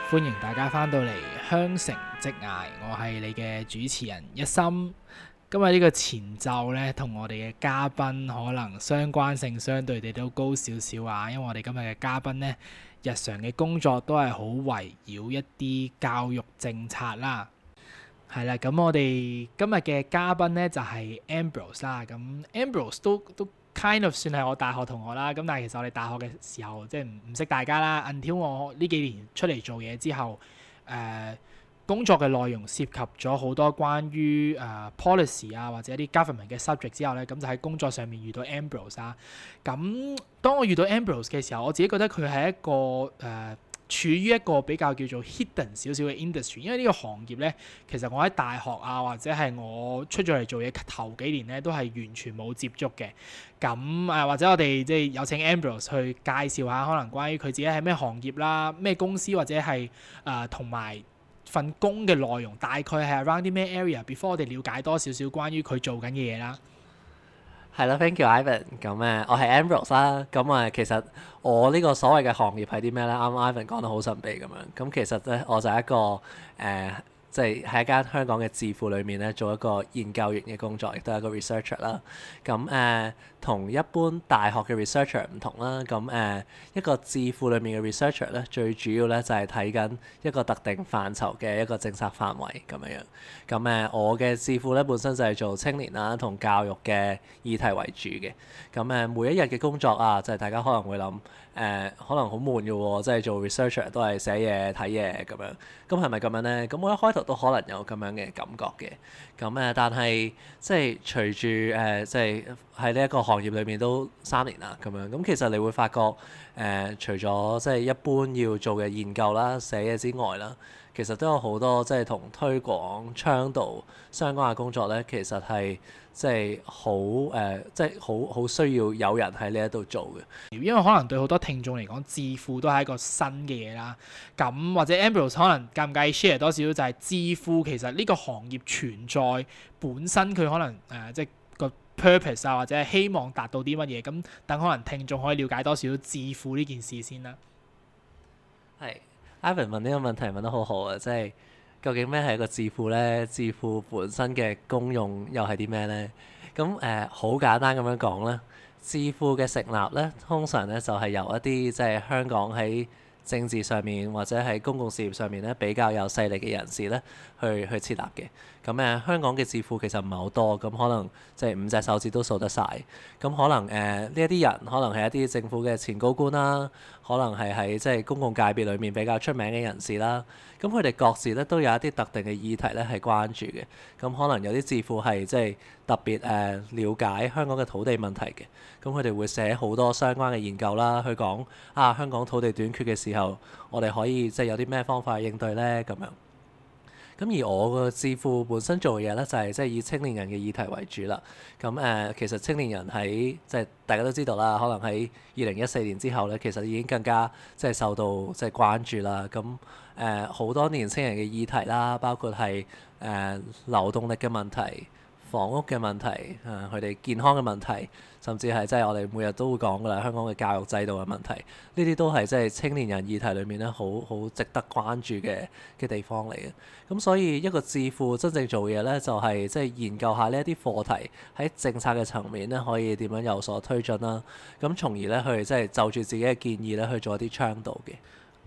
歡迎大家翻到嚟香城職涯，我係你嘅主持人一心。今日呢個前奏呢，同我哋嘅嘉賓可能相關性相對地都高少少啊，因為我哋今日嘅嘉賓呢，日常嘅工作都係好圍繞一啲教育政策啦。係啦，咁我哋今日嘅嘉賓呢，就係 Ambrose 啦。咁 Ambrose 都 kind of 算係我大學同學啦。咁但係其實我哋大學嘅時候即係唔識大家啦。until 我呢幾年出嚟做嘢之後，工作嘅內容涉及咗好多關於policy 啊或者一啲 government 嘅 subject 之後咧，咁就喺工作上面遇到 Ambrose 啦。咁當我遇到 Ambrose 嘅時候，我自己覺得佢係一個處於一個比較叫做 hidden 少少嘅 industry， 因為呢個行業咧，其實我喺大學啊或者係我出咗嚟做嘢頭幾年咧，都係完全冇接觸嘅。咁或者我哋即係有請 Ambrose 去介紹下，可能關於佢自己係咩行業啦、咩公司或者係同埋份工嘅內容，大概係 around 啲咩 area，before 我哋了解多少少關於佢做緊嘅嘢啦。 係啦，thank you Ivan。咁我係 Ambrose 啦。咁其實我呢個所謂嘅行業係啲咩咧？啱啱 Ivan 講得好神秘咁樣。咁其實咧，我就係一個即係喺一間香港嘅智庫裏面咧，做一個研究員嘅工作，亦都係一個 researcher 啦。咁同一般大學嘅 researcher 唔同啦。咁一個智庫裏面嘅 researcher 咧，最主要咧就係睇緊一個特定範疇嘅一個政策範圍咁樣樣。咁我嘅智庫咧本身就係做青年啦同教育嘅議題為主嘅。咁每一日嘅工作啊，就係大家可能會諗可能好悶嘅喎，即係做 researcher 都係寫嘢睇嘢咁樣。咁係咪咁樣咧？咁我一開頭都可能有咁樣嘅感覺嘅。咁但係即係隨住即係喺呢一個行業裏面都3年啦咁樣。咁其實你會發覺除咗即係一般要做嘅研究啦、寫嘢之外啦，其實都有好多即係同推廣倡導相關嘅工作咧，其實係即係好需要有人喺呢一度做嘅。 因為可能對好多聽眾嚟講，智庫都係一個新嘅嘢啦。咁或者 Ambrose 可能介唔介意 share 多少少，就係智庫其實呢個行業存在本身佢可能即係個 purpose 啊，或者係希望達到啲乜嘢。咁等可能聽眾可以了解多少少智庫呢件事先啦。 係。Ivan 問呢個問題問得好好啊！即係究竟咩係一個智庫咧？智庫本身嘅功用又係啲咩咧？咁好簡單咁樣講咧，智庫嘅成立咧，通常咧就係由一啲即係香港喺政治上面或者喺公共事業上面咧比較有勢力嘅人士咧去設立嘅。咁香港嘅智庫其實唔係好多，咁可能即係5隻手指都數得晒。咁可能呢一啲人可能係一啲政府嘅前高官啦，可能係喺即係公共界別裏面比較出名嘅人士啦。咁佢哋各自咧都有一啲特定嘅議題咧係關注嘅。咁可能有啲智庫係即係特別了解香港嘅土地問題嘅。咁佢哋會寫好多相關嘅研究啦，去講香港土地短缺嘅時候，我哋可以即係有啲咩方法去應對咧咁樣。咁而我個智庫本身做嘅嘢咧，就係即係以青年人嘅議題為主啦。咁其實青年人喺即係大家都知道啦，可能喺2014年之後咧，其實已經更加即係受到即係關注啦。咁好多年青人嘅議題啦，包括係流動力嘅問題、房屋嘅問題、佢哋健康嘅問題，甚至係即係我哋每日都會講㗎啦，香港嘅教育制度嘅問題，呢啲都係即係青年人議題裏面咧好值得關注嘅地方嚟嘅。咁所以一個智庫真正做嘢咧，就係即係研究下呢一啲課題喺政策嘅層面咧，可以點樣有所推進啦。咁從而咧去即係就住自己嘅建議咧去做一啲倡導嘅。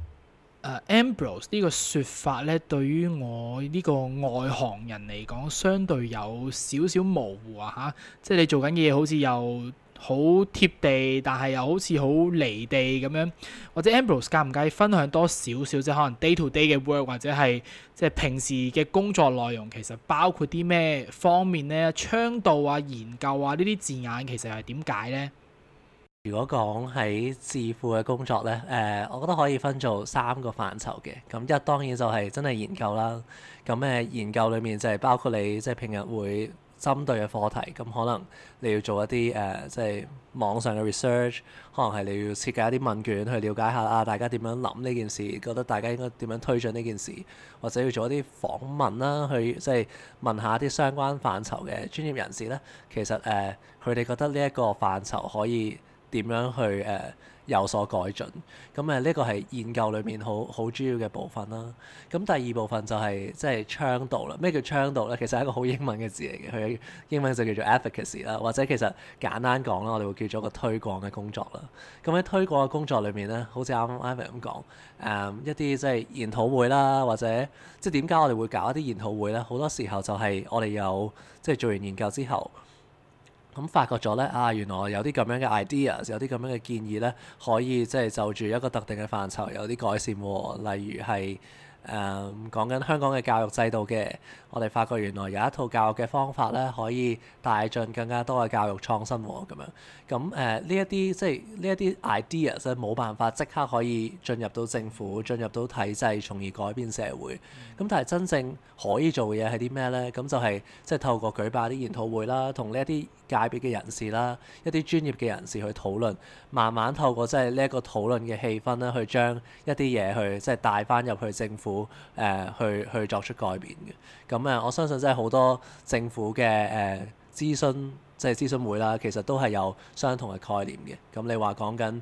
Ambrose 呢個説法咧，對於我呢個外行人嚟講，相對有少少模糊啊！即係你做緊嘅嘢好似又好貼地，但係又好似好離地咁樣。或者 Ambrose 介唔介意分享多少少，即係可能 day to day 嘅 work 或者係即係平時嘅工作內容，其實包括啲咩方面咧？倡導啊、研究啊呢啲字眼其實係點解咧？ 如果講喺智庫嘅工作咧，我覺得可以分做3個範疇嘅。咁一當然就係真係研究啦。咁研究裡面就係包括你即係平日會針對嘅課題。咁可能你要做一啲即係網上嘅 research，可能係你要設計一啲問卷去了解下大家點樣諗呢件事，覺得大家應該點樣推進呢件事，或者要做一啲訪問啦，去即係問下啲相關範疇嘅專業人士咧。其實佢哋覺得呢一個範疇可以點樣去有所改進。咁呢個係研究裏面好主要嘅部分啦。咁第二部分就係即係倡導啦。咩叫倡導咧？其實係一個好英文嘅字嚟嘅，佢英文就叫做 advocacy 啦，或者其實簡單講啦，我哋會叫做一個推廣嘅工作啦。咁喺推廣嘅工作裏面咧，好似啱啱 Ivan 咁講，一啲即係研討會啦，或者即係點解我哋會搞一啲研討會咧？好多時候就係我哋有即係做完研究之後。咁發覺咗咧原來有啲咁樣嘅 ideas， 有啲咁樣嘅建議咧，可以即係就住一個特定嘅範疇有啲改善喎。例如係講緊香港嘅教育制度嘅，我哋發覺原來有一套教育嘅方法咧，可以帶進更加多嘅教育創新喎。咁樣咁呢一啲即係呢一啲 ideas 咧，冇辦法即刻可以進入到政府、進入到體制，從而改變社會。咁但係真正可以做嘅嘢係啲咩咧？咁就係即係透過舉辦啲研討會啦，同呢一啲界別嘅人士啦，一啲專業嘅人士去討論，慢慢透過即係呢一個討論嘅氣氛咧，去將一啲嘢去即係帶翻入去政府去作出改變嘅。咁我相信即係好多政府嘅諮詢即係諮詢會啦，其實都係有相同嘅概念嘅。咁你話講緊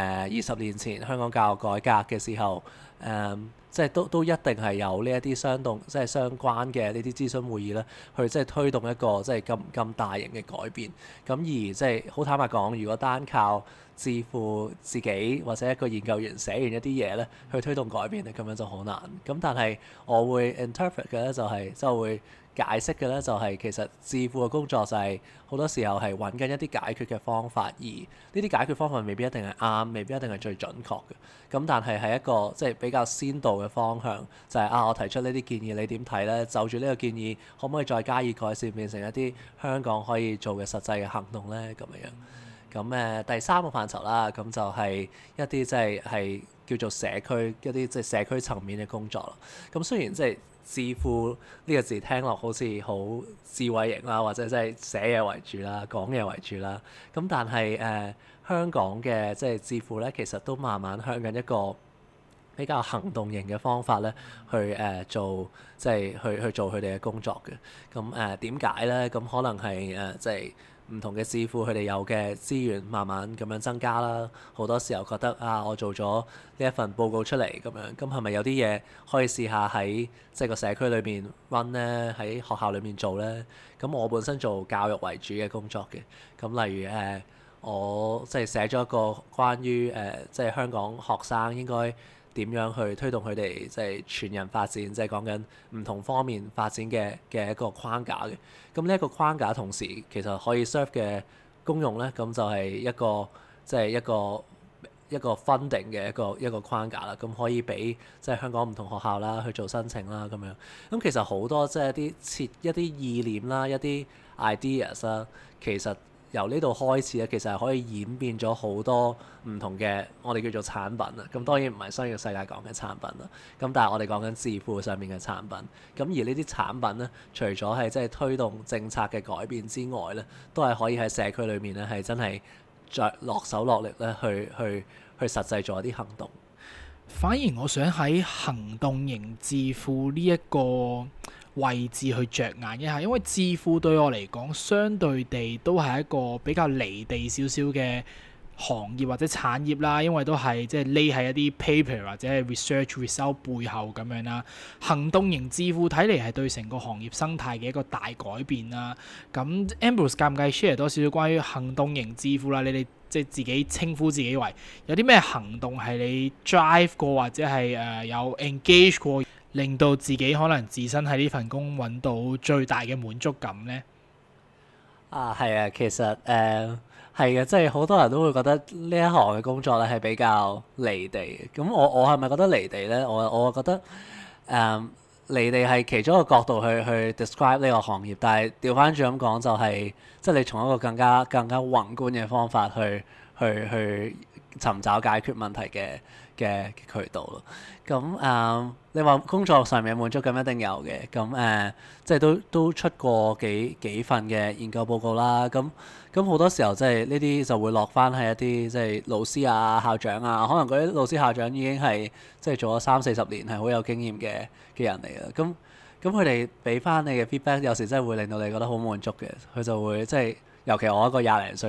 20年前香港教育改革嘅時候，即係都一定係有呢一啲即係相關嘅呢啲諮詢會議咧，去即係推動一個即係咁大型嘅改變。咁而即係好坦白講，如果單靠自負自己或者一個研究員寫完一啲嘢咧，去推動改變咧，咁樣就好難。咁但係我會 interpret 嘅咧，就係即係會解釋嘅咧，就係其實智庫嘅工作就係好多時候係揾緊一啲解決嘅方法，而呢啲解決方法未必一定係啱，未必一定係最準確嘅。咁但係係一個即係比較先導嘅方向，就係我提出呢啲建議，你點睇咧？就住呢個建議，可唔可以再加以改善，變成一啲香港可以做嘅實際嘅行動咧？咁樣。咁第三個範疇啦，咁就係一啲即係叫做社區一啲即係社區層面嘅工作啦。咁雖然即係智庫呢個字聽落好似好智慧型啦，或者即係寫嘢為主啦，講嘢為主啦。咁但係香港嘅即係智庫咧，其實都慢慢向緊一個比較行動型嘅方法咧，去做即係去做佢哋嘅工作嘅。咁點解咧？咁可能係即係唔同嘅智庫佢哋有嘅資源慢慢咁樣增加啦。好多時候覺得我做咗呢一份報告出嚟咁樣，咁係咪有啲嘢可以試下喺即係個社區裏邊 run 咧？喺學校裏面做咧？咁我本身做教育為主嘅工作嘅，咁例如我即係寫咗一個關於即係香港學生應該點樣去推動佢哋即係全人發展，即係講緊唔同方面發展嘅一個框架嘅。咁呢一個框架同時其實可以 serve 嘅功用咧，咁就係一個即係一個 funding 嘅一個框架啦。咁可以俾即係香港唔同學校啦去做申請啦咁樣。咁其實好多即係一啲意念啦，一啲 ideas 啦，其實由呢度開始咧，其實係可以演變咗好多唔同嘅我哋叫做產品啦。咁當然唔係商業世界講嘅產品啦。咁但係我哋講緊智庫上面嘅產品。咁而呢啲產品咧，除咗係即係推動政策嘅改變之外咧，都係可以喺社區裏面咧係真係再落手落力咧去實際做一啲行動。 反而我想喺行動型智庫呢一個位置去着眼一下，因為智庫對我嚟講，相對地都係一個比較離地少少嘅行業或者產業啦，因為都係即係匿喺一啲 paper 或者係 research result 背後咁樣啦。行動型智庫睇嚟係對成個行業生態嘅一個大改變啦。咁 Ambrose 介唔介意 share 多少少關於行動型智庫啦？你哋即係自己稱呼自己為有啲咩行動係你 drive 過或者係有 engage 過，令到自己可能自身喺呢份工揾到最大嘅滿足感呢？ 係啊，其實係嘅，即係好多人都會覺得呢一行嘅工作咧係比較離地嘅。咁我係咪覺得離地咧？我覺得離地係其中一個角度去 describe 呢個行業，但係調翻轉咁講就係，即係你從一個更加宏觀嘅方法去尋找解決問題嘅渠道咯。咁你話工作上面嘅滿足感一定有嘅。咁即係都出過幾份嘅研究報告啦。咁好多時候即係呢啲就會落翻喺一啲即係老師啊、校長啊，可能嗰啲老師校長已經係即係做咗30-40年，係好有經驗嘅人嚟嘅。咁佢哋俾翻你嘅 feedback，有時真係會令到你覺得好滿足嘅。佢就會即係尤其我一個20零歲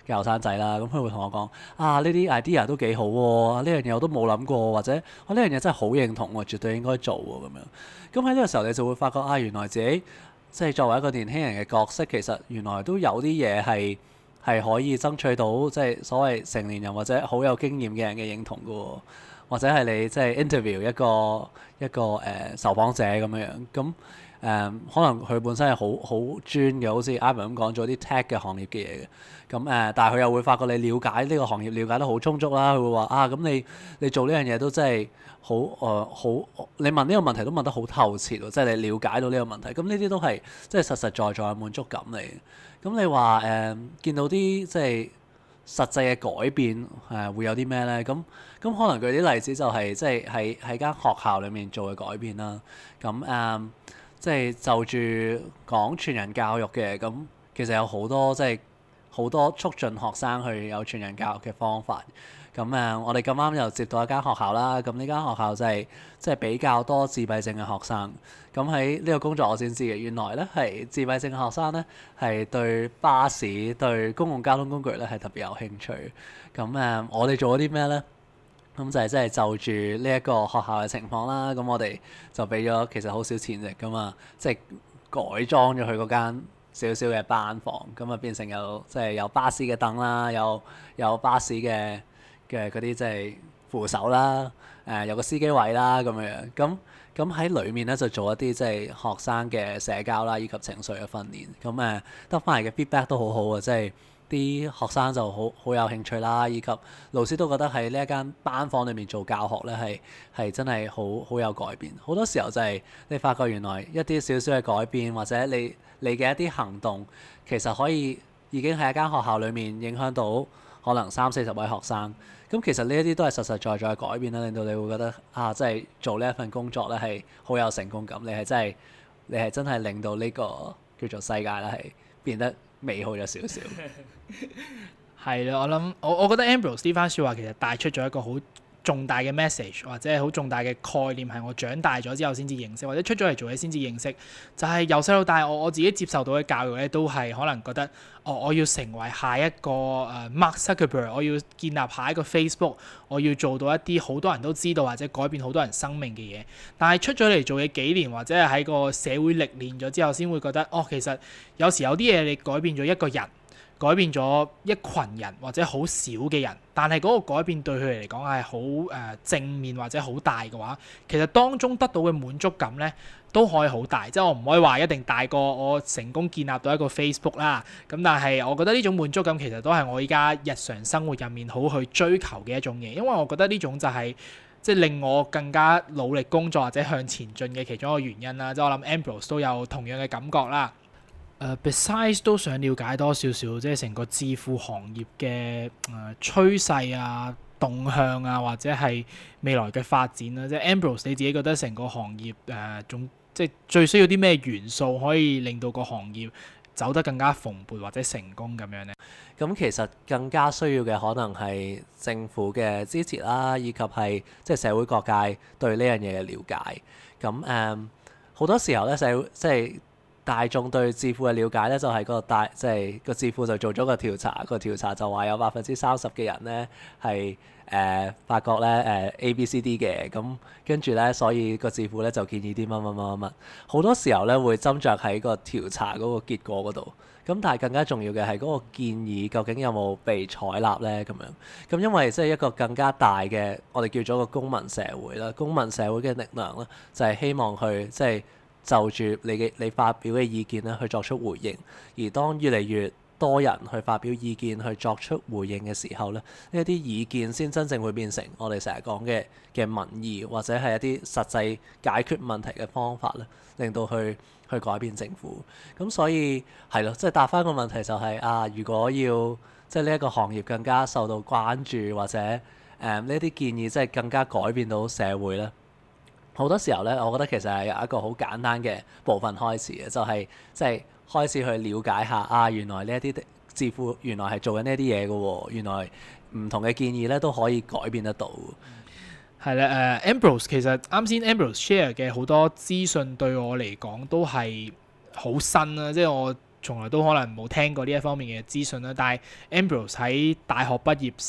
嘅後生仔啦，咁佢會同我講啊，呢啲 idea 都幾好喎，呢樣嘢我都冇諗過，或者我呢樣嘢真係好認同喎，絕對應該做喎咁樣。咁喺呢個時候你就會發覺啊，原來自己即係作為一個年輕人嘅角色，其實原來都有啲嘢係可以爭取到即係所謂成年人或者好有經驗嘅人嘅認同嘅喎，或者係你即係 interview 一個受訪者咁樣樣咁。可能佢本身係好專嘅，好似 Ivan 咁講做啲 tech 嘅行業嘅嘢嘅，咁但係佢又會發覺你了解呢個行業了解得好充足啦，佢會話啊，咁你做呢樣嘢都真係好你問呢個問題都問得好透徹喎，即係你了解到呢個問題，咁呢啲都係即係實實在在嘅滿足感嚟嘅。咁你話見到啲即係實際嘅改變會有啲咩咧？咁可能舉啲例子就係即係喺間學校裡面做嘅改變啦。咁即係就住講全人教育嘅，咁其實有好多即係好多促進學生去有全人教育嘅方法。咁我哋咁啱又接到一間學校啦。咁呢間學校就係即係比較多自閉症嘅學生。咁喺呢個工作我先知嘅，原來咧係自閉症嘅學生咧係對巴士、對公共交通工具咧係特別有興趣。咁我哋做咗啲咩咧？咁就係即係就住呢一個學校嘅情況啦，咁我哋就俾咗其實好少錢啫，咁啊即係改裝咗佢嗰間少少嘅班房，咁啊變成即係有巴士嘅凳啦，有巴士嘅嗰啲即係扶手啦，有個司機位啦咁樣，咁喺裡面咧就做一啲即係學生嘅社交啦，以及情緒嘅訓練，咁得翻嚟嘅 feedback 都好好啊，即係。啲學生就好有興趣啦，以及老師都覺得喺呢一間班房裏面做教學咧係真係好有改變。好多時候就係你發覺原來一啲少少嘅改變，或者你嘅一啲行動，其實可以已經喺一間學校裏面影響到可能30-40位學生。咁其實呢一啲都係實實在在嘅改變啦，令到你會覺得啊，即係做呢一份工作咧係好有成功感。你係真係令到呢個叫做世界咧係變得美好咗少少。 係啦，我覺得 Ambrose 呢番説話其實帶出咗一個好重大嘅 message， 或者係好重大嘅概念，係我長大咗之後先至認識，或者出咗嚟做嘢先至認識。就係由細到大，我自己接受到嘅教育咧，都係可能覺得我要成為下一個Mark Zuckerberg， 我要建立下一個 Facebook， 我要做到一啲好多人都知道或者改變好多人生命嘅嘢。但係出咗嚟做嘢幾年，或者係喺個社會歷練咗之後，先會覺得其實有時有啲嘢你改變咗一個人，改變咗一群人或者好少嘅人，但係嗰個改變對佢哋嚟講係好正面或者好大嘅話，其實當中得到嘅滿足感咧都可以好大。即係我唔可以話一定大過我成功建立到一個 Facebook 啦，咁但係我覺得呢種滿足感其實都係我依家日常生活入面好去追求嘅一種嘢，因為我覺得呢種就係即係令我更加努力工作或者向前進嘅其中一個原因啦。即係我諗 Ambrose 都有同樣嘅感覺啦。besides 都想了解多少少，即係成個智庫行業嘅趨勢啊、動向啊，或者係未來嘅發展啦。即係 Ambrose 你自己覺得成個行業即係最需要啲咩元素可以令到個行業走得更加蓬勃或者成功咁樣呢？ 咁其實更加需要嘅可能係政府嘅支持啦，以及係即係社會各界對呢樣嘢嘅了解。咁好多時候咧，即係大眾對智庫嘅了解咧，就係即係個智庫就做咗個調查，個調查就話有30%嘅人咧係發覺咧ABCD 嘅，咁跟住咧，所以個智庫咧就建議啲乜。好多時候咧會斟酌喺個調查嗰個結果嗰度，咁但係更加重要嘅係嗰個建議究竟有冇被採納咧咁樣。咁因為即係一個更加大嘅，我哋叫做個公民社會啦，公民社會嘅力量啦，就係希望去即係就住你發表嘅意見咧去作出回應，而當越嚟越多人去發表意見去作出回應嘅時候咧，呢一啲意見先真正會變成我哋成日講嘅民意，或者係一啲實際解決問題嘅方法咧，令到去改變政府。咁所以係咯，即係答翻個問題就係如果要即係呢一個行業更加受到關注，或者呢一啲建議即係更加改變到社會咧。好多時候咧，我覺得其實係由一個好簡單嘅部分開始嘅，就係即係開始去了解下原來呢一啲智庫原來係做緊呢一啲嘢嘅喎，原來唔同嘅建議咧都可以改變得到。 係啦，Ambrose 其實啱先 Ambrose share 嘅好多資訊對我嚟講都係好新啦，即係我從來都可能冇聽過呢一方面嘅資訊啦。但係 Ambrose 喺大學畢業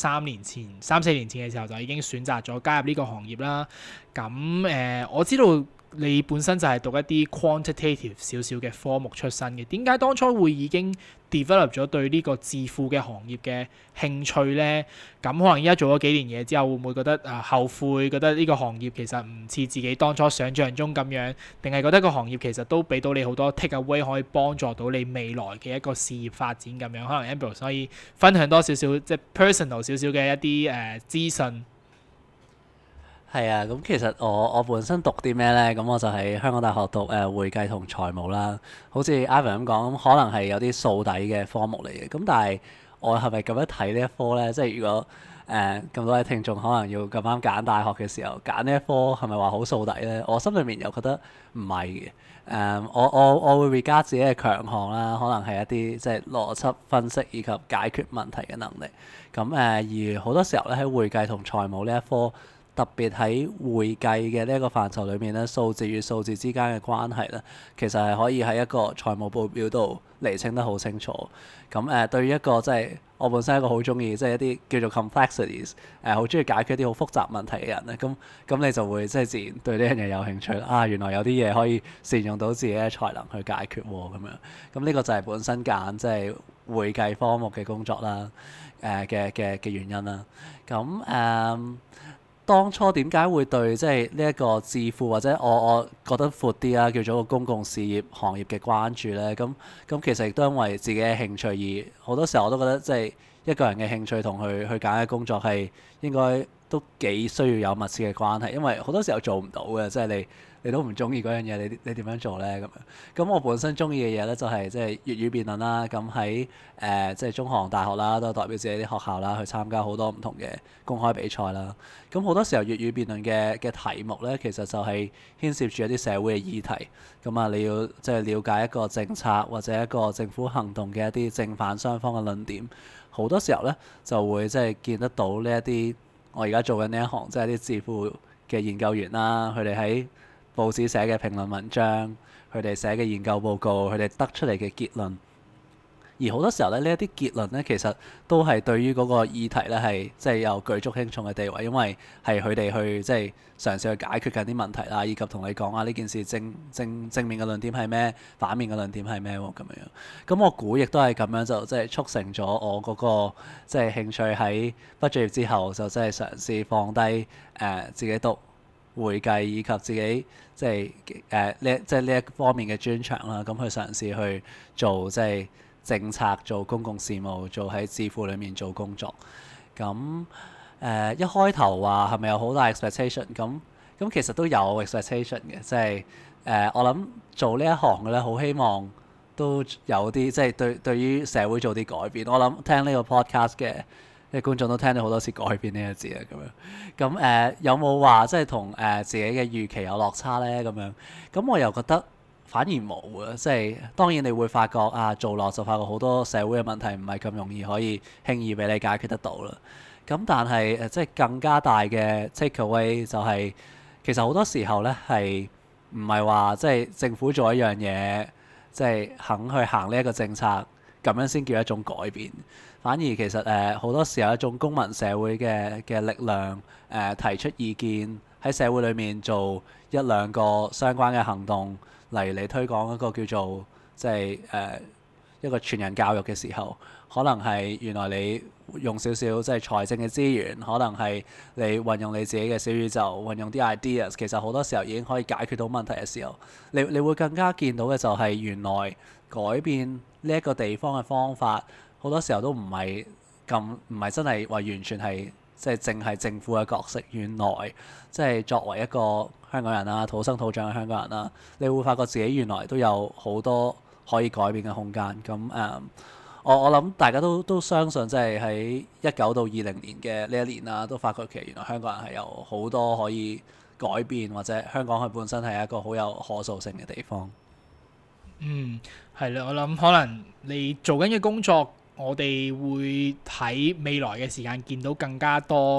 3、4年前嘅時候就已經選擇咗加入呢個行業啦。咁我知道你本身就係讀一啲 quantitative 少少嘅科目出身嘅，點解當初會已經 develop 咗對呢個致富嘅行業嘅興趣呢？咁可能依家做咗幾年嘢之後，會唔會覺得後悔，覺得呢個行業其實唔似自己當初想像中咁樣，定係覺得個行業其實都俾到你好多 take away，可以幫助到你未來嘅一個事業發展咁樣？可能 Ambrose 可以分享多少少即係 personal 少少嘅一啲資訊。 係啊，咁其實我本身讀啲咩呢？咁我就喺香港大學讀會計同財務啦。好似 Ivan 咁講，咁可能係有啲數底嘅科目嚟嘅。咁但係我係咪咁樣睇呢一科呢？即係如果咁多位聽眾可能要咁啱揀大學嘅時候揀呢一科，係咪話好數底呢？我心裏面又覺得唔係嘅。我會 regard 自己嘅強項啦，可能係一啲即係邏輯分析以及解決問題嘅能力。咁而好多時候咧喺會計同財務呢一科，特別喺會計嘅呢一個範疇裏面咧，數字與數字之間嘅關係咧，其實係可以喺一個財務報表度釐清得好清楚。咁對於一個即係我本身一個好中意即係一啲叫做 complexities 好中意解決一啲好複雜問題嘅人咧，咁你就會即係自然對呢樣嘢有興趣啦。原來有啲嘢可以善用到自己嘅才能去解決喎，咁樣。咁呢個就係本身揀即係會計科目嘅工作啦，嘅原因啦。咁當初點解會對即係呢一個致富或者我覺得闊啲啦，叫做個公共事業行業嘅關注呢？咁其實亦都因為自己嘅興趣，而好多時候我都覺得即係一個人嘅興趣同佢去揀嘅工作係應該都幾需要有密切嘅關係，因為好多時候做唔到嘅，即係你都唔中意嗰樣嘢，你點樣做呢？咁我本身中意嘅嘢呢，就係即係粵語辯論啦。咁喺即係中學、大學啦，都代表自己啲學校啦，去參加好多唔同嘅公開比賽啦。咁好多時候粵語辯論嘅題目呢，其實就係牽涉住一啲社會嘅議題。咁你要即係了解一個政策或者一個政府行動嘅一啲正反雙方嘅論點。好多時候呢，就會即係見得到呢一啲我而家做緊呢一行，即係啲致富嘅研究員啦，佢哋喺報紙寫嘅評論文章，佢哋寫嘅研究報告，佢哋得出嚟嘅結論，而好多時候咧，呢一啲結論咧，其實都係對於嗰個議題咧係即係有舉足輕重嘅地位，因為係佢哋去即係嘗試去解決緊啲問題啦，以及同你講呢件事正面嘅論點係咩，反面嘅論點係咩喎咁樣。咁我估亦都係咁樣就即係促成咗我嗰個即係興趣喺畢咗業之後就即係嘗試放低自己讀會計以及自己即係呢一方面嘅專長啦，咁去嘗試去做即係政策、做公共事務、做喺致富裏面做工作。咁一開頭話係咪有好大 expectation？咁其實都有 expectation 嘅，即係我諗做呢一行嘅咧，好希望都有啲即係對於社會做啲改變。我諗聽呢個 podcast 嘅啲觀眾都聽到好多次改變呢個字啊，咁樣。咁有冇話即係同自己嘅預期有落差咧？咁樣，咁我又覺得反而冇啊。即係當然你會發覺做落就發覺好多社會嘅問題唔係咁容易可以輕易俾你解決得到啦。咁但係即係更加大嘅 take away 就係其實好多時候咧係唔係話即係政府做一樣嘢，即係肯去行呢一個政策咁樣先叫一種改變。反而其實好多時候一種公民社會嘅力量提出意見喺社會裏面做一兩個相關嘅行動嚟推廣一個叫做即係一個全人教育嘅時候，可能係原來你用少少即係財政嘅資源，可能係你運用你自己嘅小宇宙，運用啲 ideas， 其實好多時候已經可以解決到問題嘅時候，你會更加見到嘅就係原來改變呢一個地方嘅方法。好多時候都唔係真係話完全係即係淨係政府嘅角色。原來即係作為一個香港人啦，土生土長嘅香港人啦，你會發覺自己原來都有好多可以改變嘅空間。咁我諗大家都相信，即係喺19到20年嘅呢一年啦，都發覺其實原來香港人係有好多可以改變，或者香港佢本身係一個好有可塑性嘅地方。 係啦，我諗可能你做緊嘅工作，我哋會喺未來嘅時間見到更加多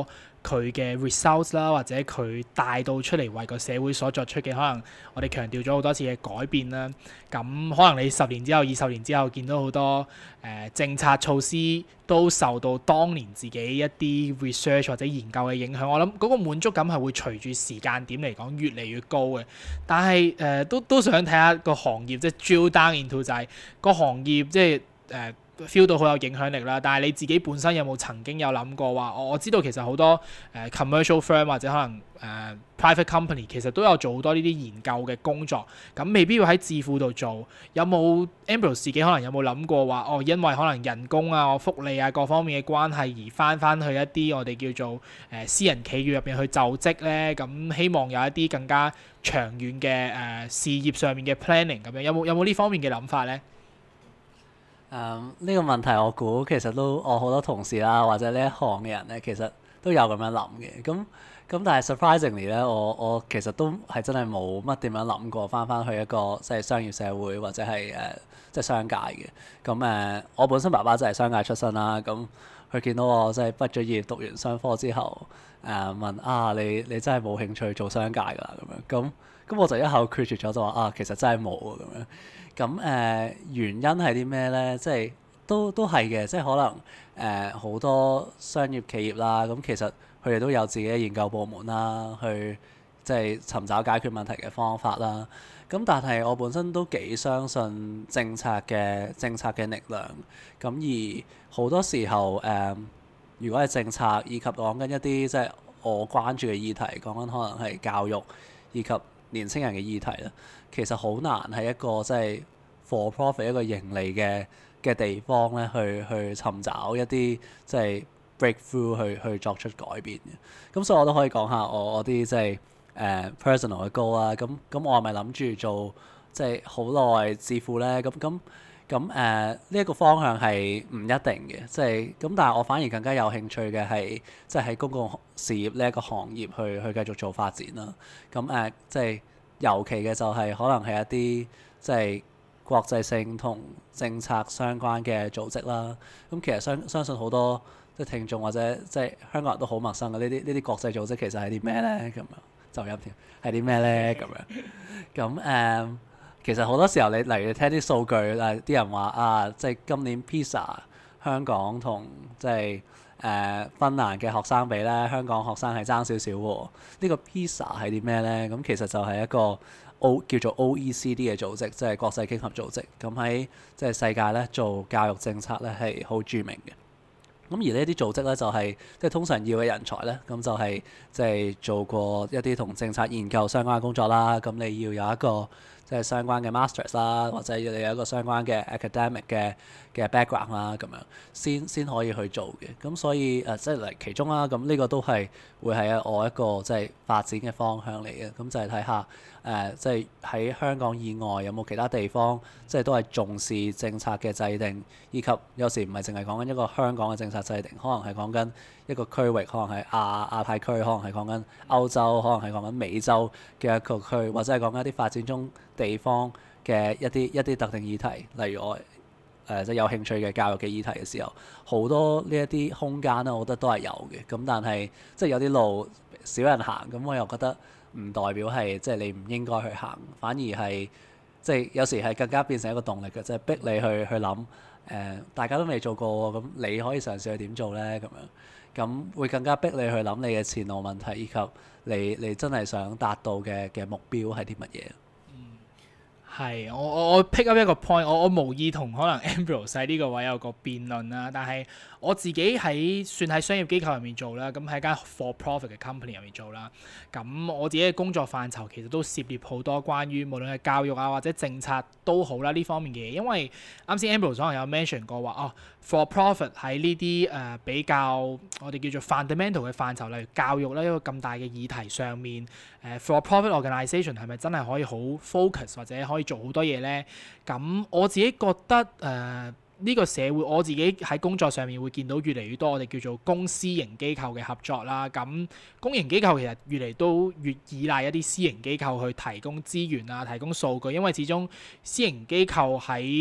佢嘅 results 啦，或者佢帶到出嚟為個社會所作出嘅，可能我哋強調咗好多次嘅改變啦。咁可能你10年之後、20年之後見到好多政策措施都受到當年自己一啲 research 或者研究嘅影響，我諗嗰個滿足感係會隨住時間點嚟講越嚟越高嘅。但係都想睇下個行業，即係 drill down into 就係個行業即係feel 到好有影響力啦，但係你自己本身有冇曾經有諗過話，我知道其實好多commercial firm 或者可能private company 其實都有做好多呢啲研究嘅工作，咁未必要喺智庫度做。有冇 Ambrose 自己可能有冇諗過話，因為可能人工啊、福利啊各方面嘅關係而翻去一啲我哋叫做私人企業入邊去就職咧？咁希望有一啲更加長遠嘅事業上面嘅 planning 咁樣，有冇呢方面嘅諗法咧？ 呢個問題我估其實都我好多同事啦，或者呢一行嘅人咧，其實都有咁樣諗嘅。咁但係 surprisingly 咧，我其實都係真係冇乜點樣諗過翻去一個即係商業社會或者係即係商界嘅。咁我本身爸爸就係商界出身啦。咁佢見到我即係畢咗業讀完商科之後，問你真係冇興趣做商界㗎啦咁樣。咁我就一口拒絕咗，就話其實真係冇啊咁樣。咁原因係啲咩咧？即係都係嘅，即係可能好多商業企業啦，咁其實佢哋都有自己嘅研究部門啦，去即係尋找解決問題嘅方法啦。咁但係我本身都幾相信政策嘅力量。咁而好多時候如果係政策以及講緊一啲即係我關注嘅議題，講緊可能係教育以及年輕人嘅議題啦，其實好難係一個即係 for profit 一個盈利嘅地方咧，去尋找一啲即係 breakthrough 去作出改變嘅。咁所以我都可以講下我啲即係personal 嘅 goal 啦。咁我係咪諗住做即係好耐致富咧？咁呢一個方向係唔一定嘅，即係咁。但係我反而更加有興趣嘅係即係喺公共事業呢一個行業去繼續做發展啦。咁即係尤其嘅就係可能係一啲即係國際性同政策相關嘅組織啦。咁其實相信好多即係聽眾或者即係香港人都好陌生嘅呢啲國際組織其實係啲咩咧？咁樣就音添係啲咩咧？咁樣咁其實好多時候你例如你聽啲數據，啲人話即係今年 PISA 香港同即係芬蘭嘅學生比咧，香港學生係爭少少喎。呢個 PISA 係啲咩咧？咁其實就係一個叫做 OECD 嘅組織，即係國際經合組織。咁喺即係世界咧做教育政策咧係好著名嘅。咁而呢啲組織咧就係即係通常要嘅人才咧，咁就係即係做過一啲同政策研究相關嘅工作啦。咁你要有一個即係相關嘅 masters 啦，或者要你有一個相關嘅 academic 嘅 background 啦，咁樣先可以去做嘅。咁所以即係嚟其中啦，咁呢個都係會係我一個即係發展嘅方向嚟嘅。咁就係睇下即係喺香港以外有冇其他地方，即係都係重視政策嘅制定，以及有時唔係淨係講緊一個香港嘅政策制定，可能係講緊一個區域，可能係亞太區，可能係講緊歐洲，可能係講緊美洲嘅一個區，或者係講緊一啲發展中地方嘅一啲特定議題，例如我即係有興趣嘅教育嘅議題嘅時候，好多呢一啲空間咧，我覺得都係有嘅。咁但係即係有啲路少人行，咁我又覺得唔代表係即係你唔應該去行，反而係即係有時係更加變成一個動力嘅，即係逼你去諗大家都未做過，咁你可以嘗試去點做咧？咁會更加逼你去諗你嘅前路問題，以及你真係想達到嘅目標係啲乜嘢？ 係，我 pick up 一個 point，我無意同可能 Ambrose 喺呢個位有個辯論啦，但係我自己算喺商業機構入面做啦，咁喺間 for profit 嘅 company 入面做啦，咁我自己嘅工作範疇其實都涉獵好多關於無論係教育啊或者政策都好啦呢方面嘅嘢，因為啱先 Ambrose 可能有 mention 過話for profit 喺呢啲比較我哋叫做 fundamental 嘅範疇，例如教育咧一個咁大嘅議題上面for profit organisation 係咪真係可以好 focus 或者可以做好多嘢咧？咁我自己覺得呢個社會我自己喺工作上面會見到越嚟越多我哋叫做公私營機構嘅合作啦。咁公營機構其實越嚟都越依賴一啲私營機構去提供資源啊、提供數據，因為始終私營機構喺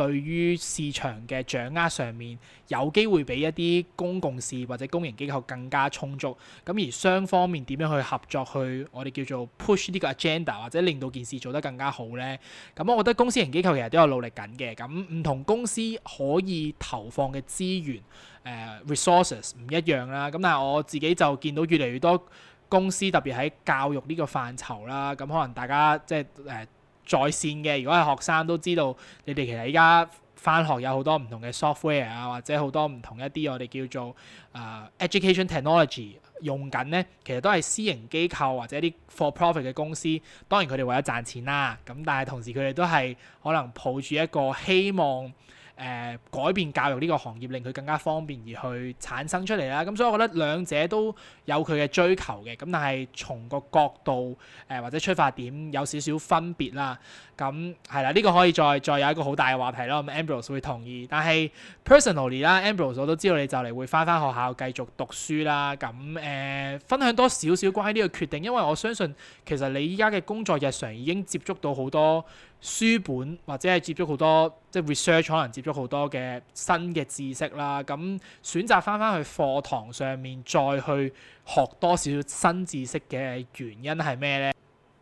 對於市場嘅掌握上面有機會比一啲公共事業或者公營機構更加充足。咁而雙方面點樣去合作，去我哋叫做 push 呢個 agenda， 或者令到件事做得更加好呢？咁我覺得公私營機構其實都有努力緊嘅。咁唔同公司可以投放嘅資源resources 唔一樣啦。咁但係我自己就見到越嚟越多公司特別喺教育呢個範疇啦。咁可能大家即係在線嘅，如果係學生都知道，你哋其實依家返學有好多唔同嘅 software 啊，或者好多唔同一啲我哋叫做education technology 用緊咧，其實都係私營機構或者一啲 for profit 嘅公司。當然佢哋為咗賺錢啦，咁但係同時佢哋都係可能抱住一個希望改變教育呢個行業，令佢更加方便而去產生出嚟啦。咁所以我覺得兩者都有佢嘅追求嘅，咁但係從個角度或者出發點有少少分別啦。咁係啦，呢個可以再有一個好大嘅話題咯。咁 Ambrose 會同意，但係 personally 啦，Ambrose 我都知道你就嚟會返學校繼續讀書啦。咁分享多少少關於呢個決定，因為我相信其實你依家嘅工作日常已經接觸到好多書本，或者係接觸好多即係 research， 可能接觸好多嘅新嘅知識啦。咁選擇返去課堂上面再去學多少少新知識嘅原因係咩呢？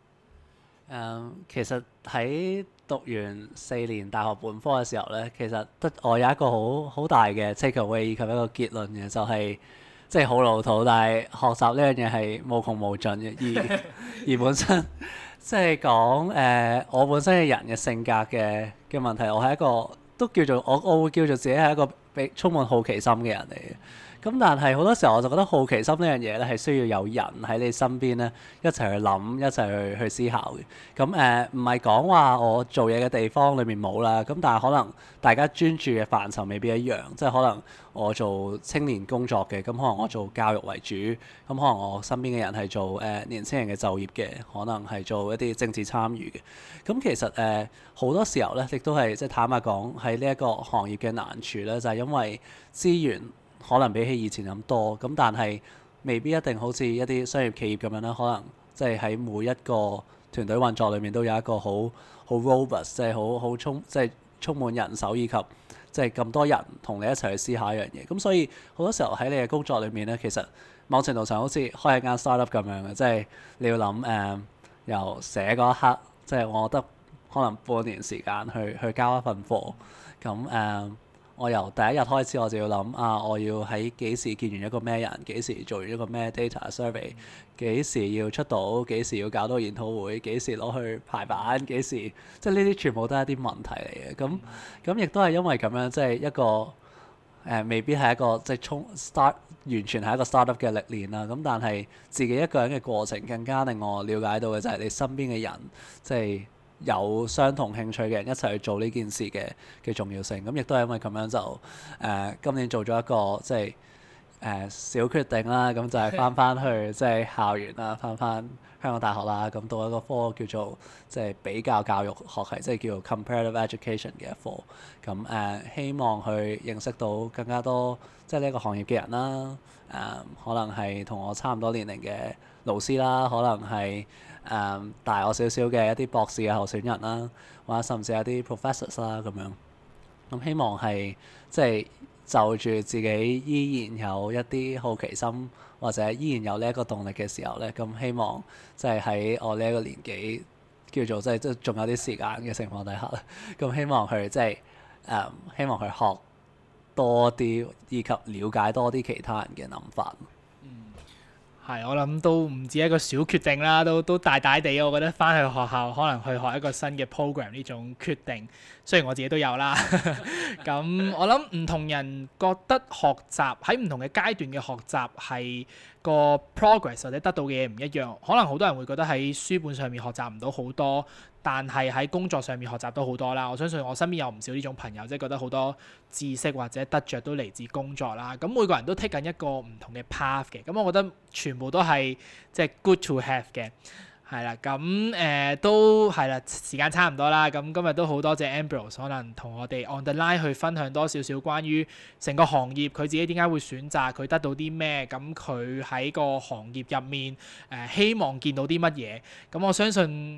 其實喺讀完4年大學本科嘅時候咧，其實得我有一個好大嘅 take away 以及一個結論嘅，就係即係好老土，但係學習呢樣嘢係無窮無盡嘅。而本身即係講我本身嘅人嘅性格嘅問題，我係一個都叫做我會叫做自己係一個充滿好奇心嘅人嚟嘅。咁但係好多時候我就覺得好奇心呢樣嘢咧係需要有人喺你身邊咧一齊去諗，一齊去思考嘅。咁唔係講話我做嘢嘅地方裏面冇啦，咁但係可能大家專注嘅範疇未必一樣，即係可能我做青年工作嘅，咁可能我做教育為主，咁可能我身邊嘅人係做年輕人嘅就業嘅，可能係做一啲政治參與嘅。咁其實好多時候咧，亦都係即係坦白講喺呢一個行業嘅難處咧，就係因為資源可能比起以前咁多，咁但係未必一定好似一啲商業企業咁樣啦。可能即係喺每一個團隊運作裏面都有一個好 robust， 即係充滿人手以及即係咁多人同你一齊去思考一樣嘢。咁所以好多時候喺你嘅工作裏面咧，其實某程度上好似開一間 startup 咁樣嘅，即係你要諗由寫嗰一刻，即係我覺得可能半年時間去交一份貨咁我由第一日開始我就要諗我要喺幾時見完一個咩人，幾時做完一個咩 data survey， 幾時要出到，幾時要搞到研討會，幾時攞去排版，幾時即係呢啲全部都係一啲問題嚟嘅。咁亦都係因為咁樣，即係一個未必係一個即係完全係一個 startup 嘅歷練啦。咁但係自己一個人嘅過程更加令我了解到嘅就係你身邊嘅人即係有相同興趣嘅人一齊去做呢件事嘅重要性。咁亦都係因為咁樣就今年做咗一個即係小決定啦。咁就係翻去即係校園啦，翻香港大學啦。咁讀一個科叫做即係比較教育學系，即係叫做 comparative education 嘅一科。咁希望去認識到更加多即係呢一個行業嘅人啦。可能係同我差唔多年齡嘅老師啦，可能係大我少少嘅一啲博士嘅候選人啦，或者甚至係一啲 professors 啦咁樣。咁希望係即係就住自己依然有一啲好奇心，或者依然有呢一個動力嘅時候咧，咁希望即係喺我呢一個年紀叫做即係仲有啲時間嘅情況底下咧，咁希望去即係希望去學多啲，以及了解多啲其他人嘅諗法。 係，我諗都唔止一個小決定啦，都大大地，我覺得返去學校可能去學一個新嘅 program 呢種決定，雖然我自己都有啦。咁我諗唔同人覺得學習喺唔同嘅階段嘅學習係個 progress 或者得到嘅嘢唔一樣，可能好多人會覺得喺書本上面學習唔到好多，但係喺工作上面學習到好多啦。我相信我身邊有唔少呢種朋友，即係覺得好多知識或者得着都嚟自工作啦。咁每個人都 take 緊一個唔同嘅 path 嘅，咁我覺得全部都係即係 good to have 嘅。係啦，咁都係啦，時間差唔多啦。咁今日都好多謝 Ambrose 可能同我哋 on the line 去分享多少少關於成個行業，佢自己點解會選擇，佢得到啲咩，咁佢喺個行業入面希望見到啲乜嘢。咁我相信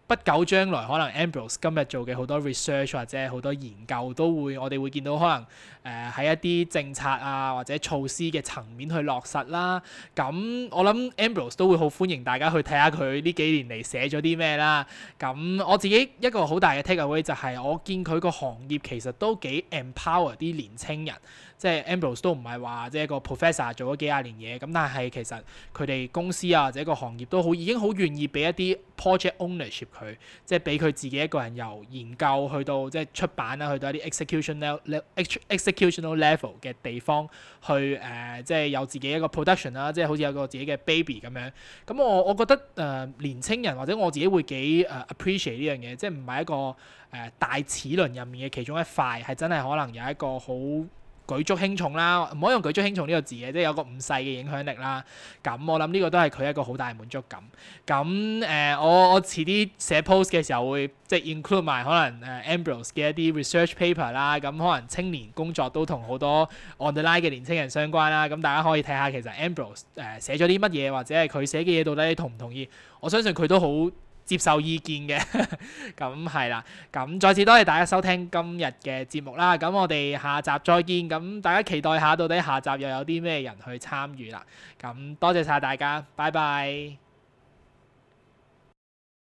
不久將來可能 Ambrose 今日做嘅好多 research 或者好多研究我哋會見到可能喺一啲政策啊或者措施嘅層面去落實啦。咁我諗 Ambrose 都會好歡迎大家去睇下佢呢幾年嚟寫咗啲咩啦。咁我自己一個好大嘅 take away 就係我見佢個行業其實都幾 empower 啲年青人。即係 Ambrose 都唔係話即係個 professor 做咗幾廿年嘢，咁但係其實佢哋公司啊或者個行業都已經好願意俾一啲 project ownership 佢，即係俾佢自己一個人由研究去到即係出版啦，去到一啲 executional level 嘅地方去即係有自己一個 production 啦，即係好似有個自己嘅 baby 咁樣。咁我覺得年青人或者我自己會幾appreciate 呢樣嘢，即係唔係一個大齒輪入面嘅其中一塊，係真係可能有一個好舉足輕重啦，唔可以用舉足輕重呢個字嘅，即係有個唔細嘅影響力啦。咁我諗呢個都係佢一個好大嘅滿足感。咁我遲啲寫 post 嘅時候會即係 include 埋可能Ambrose 嘅一啲 research paper 啦。咁可能青年工作都同好多 on the line 嘅年青人相關啦。咁大家可以睇下其實 Ambrose 寫咗啲乜嘢，或者係佢寫嘅嘢到底你同唔同意？我相信佢都好接受意見嘅。咁係啦，咁再次多謝大家收聽今日嘅節目啦。咁我哋下集再見。咁大家期待下到底下集又有啲咩人去參與啦。咁多謝晒大家，拜拜。